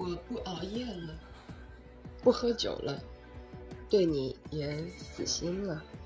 果不熬夜了，不喝酒了，对你也死心了。